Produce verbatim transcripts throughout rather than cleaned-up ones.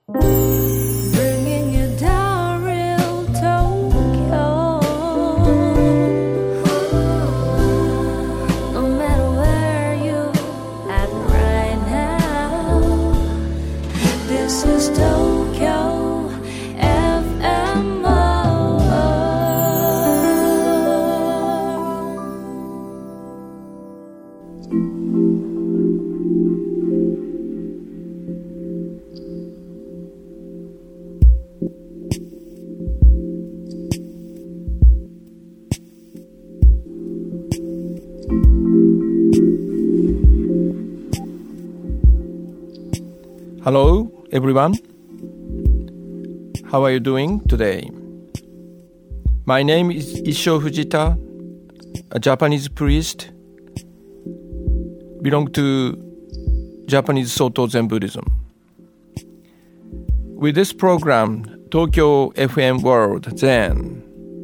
Bringing you down real Tokyo. No matter where you at right now, this is Tokyo F M. Hello, everyone. How are you doing today? My name is Issho Fujita, a Japanese priest, belong to Japanese Soto Zen Buddhism. With this program, Tokyo F M World Zen,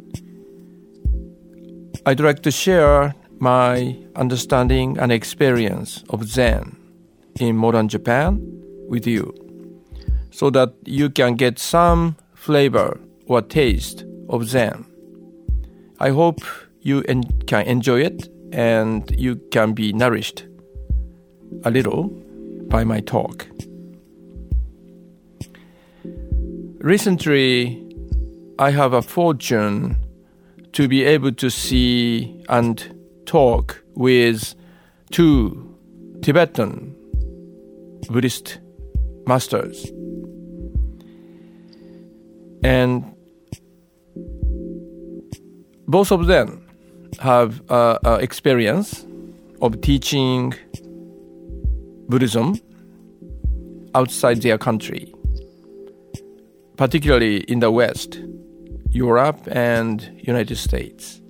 I'd like to share my understanding and experience of Zen in modern Japan with you, so that you can get some flavor or taste of Zen. I hope you en- can enjoy it and you can be nourished a little by my talk. Recently, I have a fortune to be able to see and talk with two Tibetan Buddhist masters. And both of them have uh, uh, experience of teaching Buddhism outside their country, particularly in the West, Europe and United States.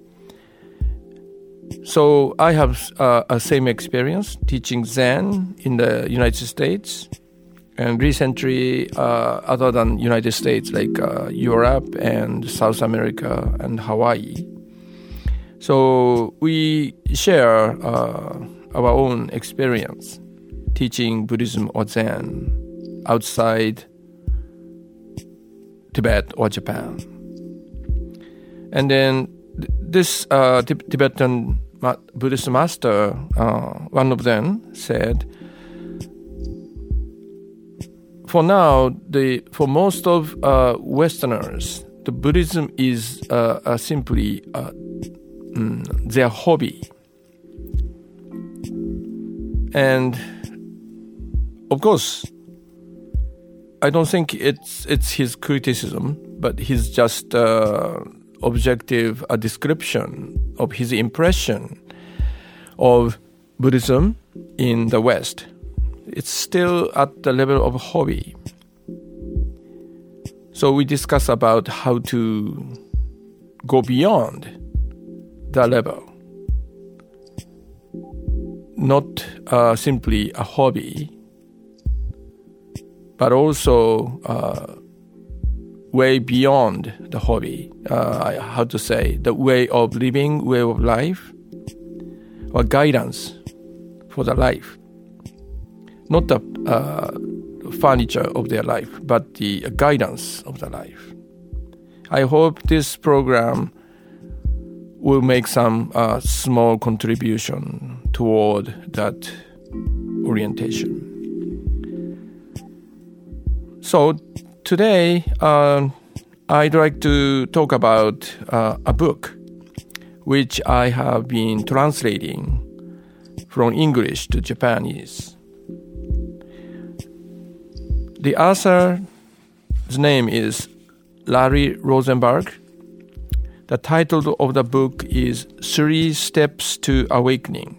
So I have uh, a same experience teaching Zen in the United States, and recently, uh, other than United States, like uh, Europe and South America and Hawaii. So we share uh, our own experience teaching Buddhism or Zen outside Tibet or Japan. And then th- this uh, t- Tibetan ma- Buddhist master, uh, one of them said, for now, the for most of uh, Westerners, the Buddhism is uh, uh, simply uh, mm, their hobby. And of course, I don't think it's it's his criticism, but his just uh, objective a description of his impression of Buddhism in the West. It's still at the level of hobby. So we discuss about how to go beyond that level. Not uh, simply a hobby, but also uh, way beyond the hobby. Uh, how to say, the way of living, way of life, or guidance for the life. Not the uh, furniture of their life, but the guidance of the life. I hope this program will make some uh, small contribution toward that orientation. So today, uh, I'd like to talk about uh, a book which I have been translating from English to Japanese. The author's name is Larry Rosenberg. The title of the book is Three Steps to Awakening.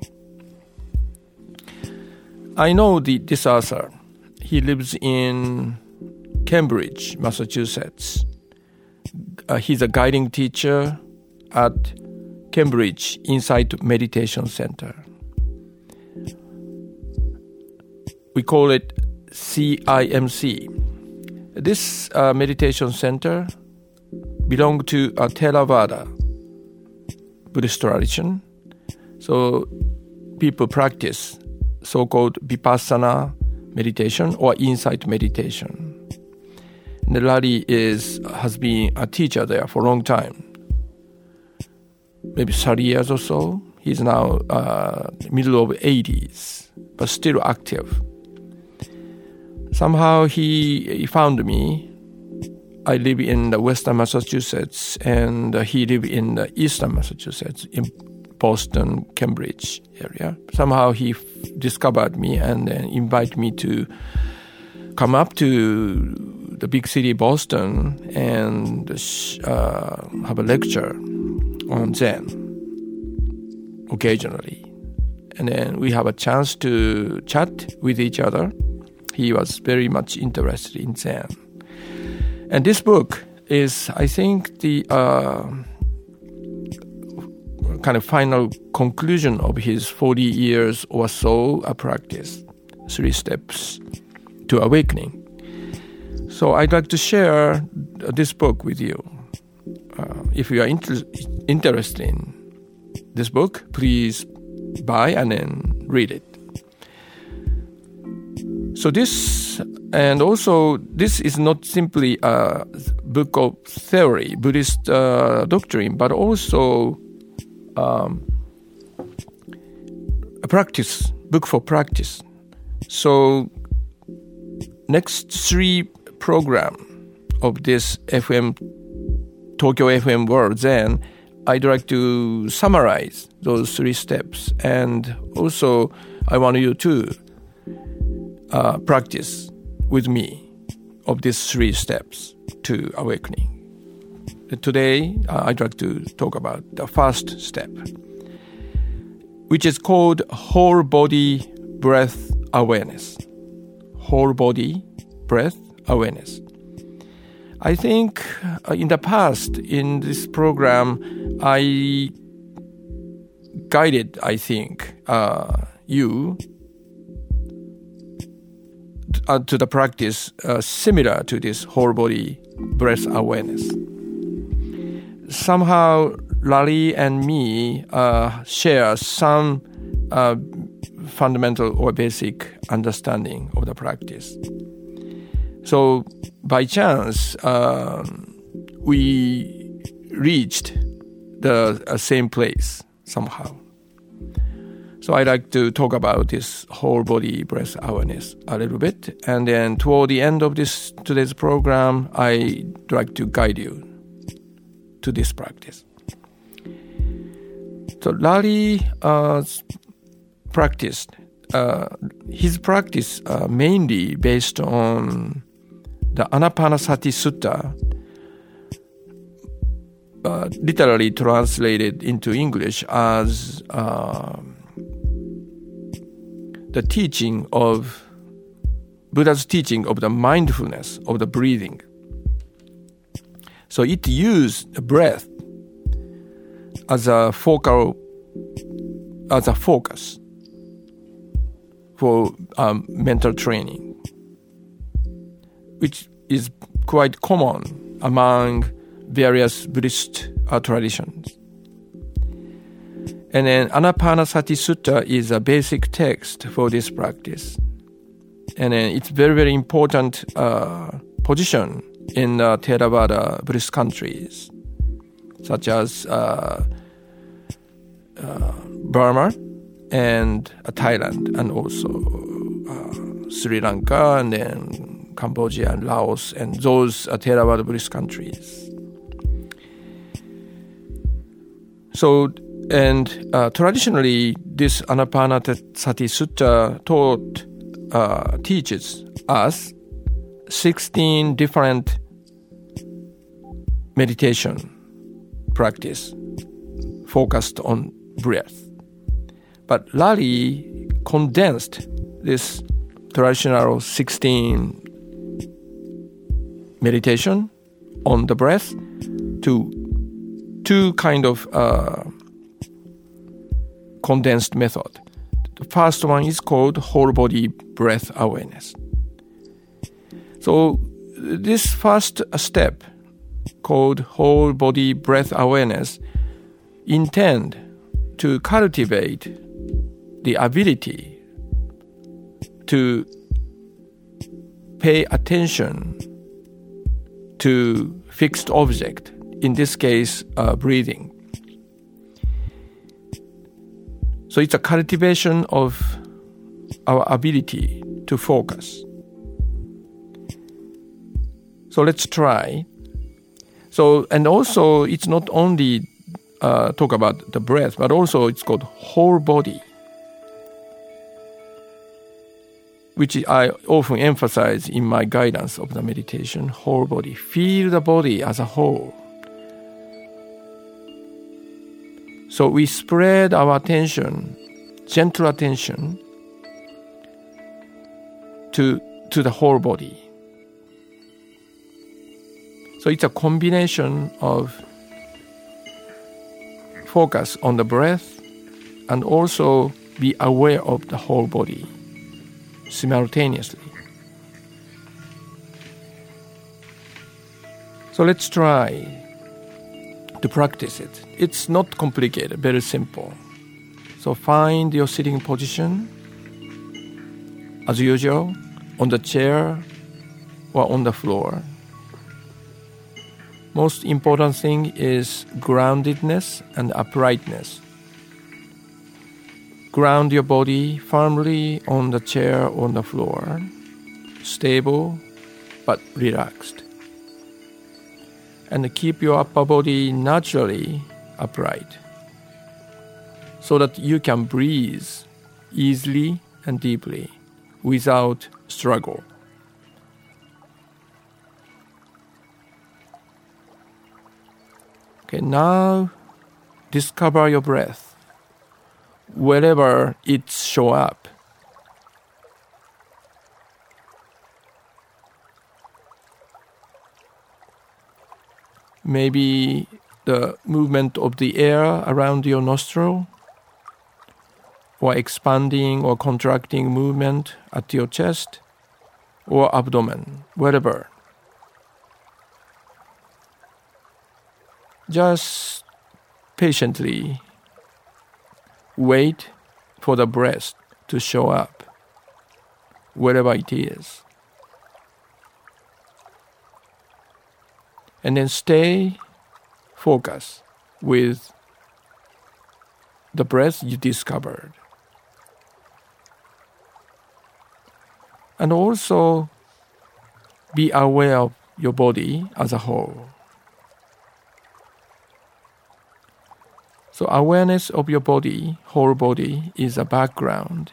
I know the, this author. He lives in Cambridge, Massachusetts. Uh, he's a guiding teacher at Cambridge Insight Meditation Center. We call it C I M C. This uh, meditation center belongs to a Theravada Buddhist tradition. So people practice so-called Vipassana meditation or insight meditation. And Larry is has been a teacher there for a long time, maybe thirty years or so. He's now uh, middle of eighties, but still active. Somehow he, he found me. I live in the Western Massachusetts, and uh, he lives in the Eastern Massachusetts, in Boston, Cambridge area. Somehow he f- discovered me and then invited me to come up to the big city, Boston, and uh, have a lecture on Zen occasionally. And then we have a chance to chat with each other. He was very much interested in Zen. And this book is, I think, the uh, kind of final conclusion of his forty years or so of practice, Three Steps to Awakening. So I'd like to share this book with you. Uh, if you are inter- interested in this book, please buy and then read it. So this, and also this is not simply a book of theory, Buddhist uh, doctrine, but also um, a practice, book for practice. So next three program of this F M, Tokyo F M World Zen, I'd like to summarize those three steps. And also I want you to uh, practice with me of these three steps to awakening. Today, uh, I'd like to talk about the first step, which is called whole body breath awareness. Whole body breath awareness. I think uh, in the past, in this program, I guided, I think, uh, you uh, to the practice uh, similar to this whole body breath awareness. Somehow, Larry and me uh, share some uh, fundamental or basic understanding of the practice. So, by chance, uh, we reached the uh, same place somehow. So I'd like to talk about this whole body breath awareness a little bit. And then toward the end of this today's program, I'd like to guide you to this practice. So Larry uh, practiced, uh, his practice uh, mainly based on the Anapanasati Sutta, uh, literally translated into English as uh, the teaching of, Buddha's teaching of the mindfulness of the breathing. So it used the breath as a focal, as a focus for um, mental training, which is quite common among various Buddhist uh, traditions. And then Anapanasati Sutta is a basic text for this practice. And then it's very, very important uh, position in uh, Theravada Buddhist countries, such as uh, uh, Burma and uh, Thailand, and also uh, Sri Lanka, and then Cambodia and Laos, and those uh, Theravada Buddhist countries. So, and uh, traditionally, this Anapanasati Sutta taught, uh, teaches us sixteen different meditation practice focused on breath. But Larry condensed this traditional sixteen meditation on the breath to two kind of uh, condensed method. The first one is called whole body breath awareness. So this first step, called whole body breath awareness, intend to cultivate the ability to pay attention to fixed object, in this case, uh, breathing. So it's a cultivation of our ability to focus. So let's try. So, and also it's not only uh, talk about the breath, but also it's called whole body, which I often emphasize in my guidance of the meditation, whole body. Feel the body as a whole. So we spread our attention, gentle attention, to, to the whole body. So it's a combination of focus on the breath and also be aware of the whole body simultaneously. So let's try to practice it. It's not complicated, very simple. So find your sitting position as usual, on the chair or on the floor. Most important thing is groundedness and uprightness. Ground your body firmly on the chair or on the floor, stable but relaxed. And keep your upper body naturally upright so that you can breathe easily and deeply without struggle. Okay, now discover your breath wherever it shows up. Maybe the movement of the air around your nostril, or expanding or contracting movement at your chest or abdomen, wherever. Just patiently wait for the breath to show up, wherever it is. And then stay focused with the breath you discovered. And also be aware of your body as a whole. So awareness of your body, whole body, is a background.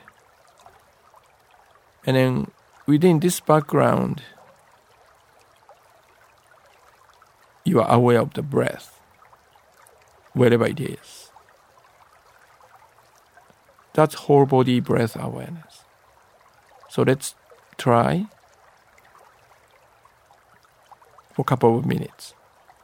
And then within this background, you are aware of the breath, wherever it is. That's whole body breath awareness. So let's try for a couple of minutes.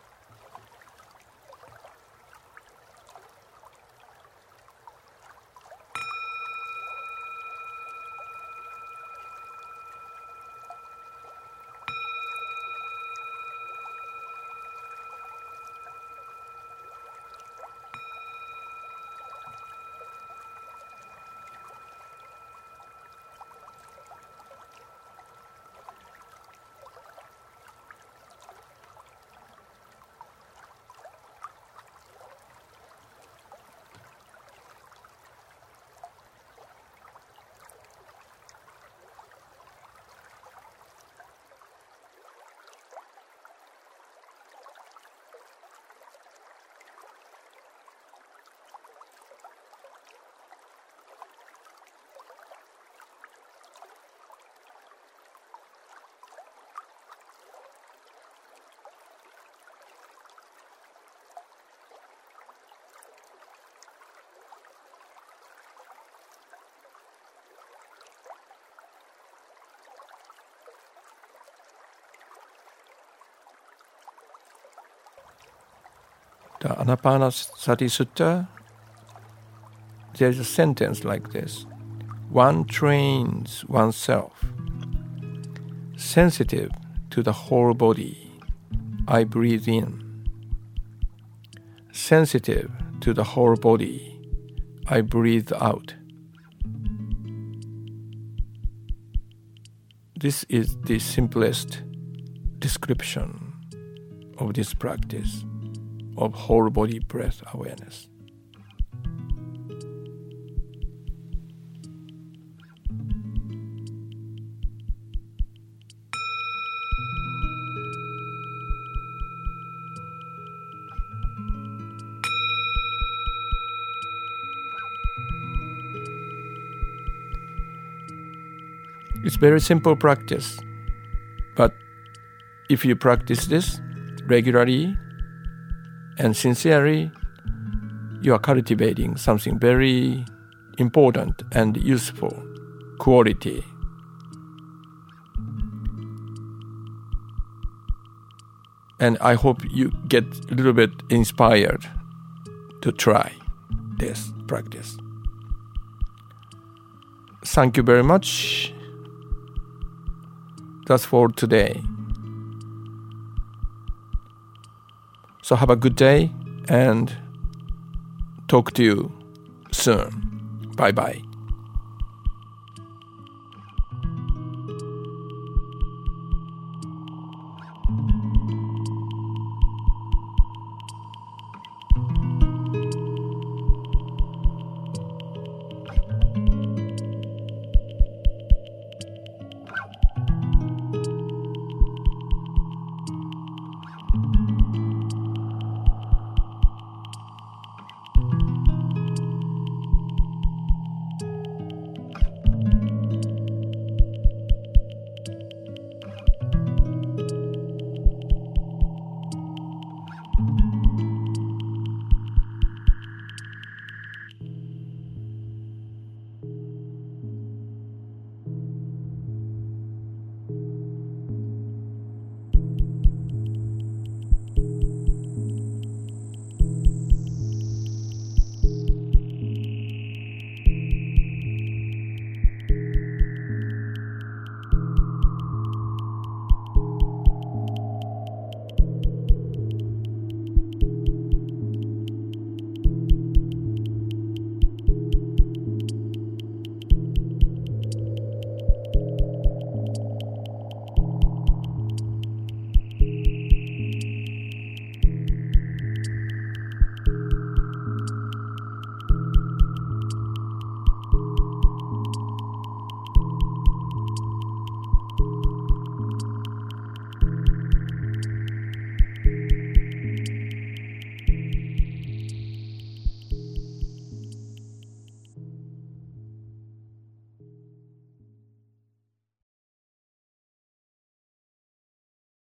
The Anapanasati Sutta, there's a sentence like this. One trains oneself, sensitive to the whole body, I breathe in. Sensitive to the whole body, I breathe out. This is the simplest description of this practice of whole body breath awareness. It's very simple practice, but if you practice this regularly and sincerely, you are cultivating something very important and useful quality. And I hope you get a little bit inspired to try this practice. Thank you very much. That's for today. So have a good day and talk to you soon. Bye bye.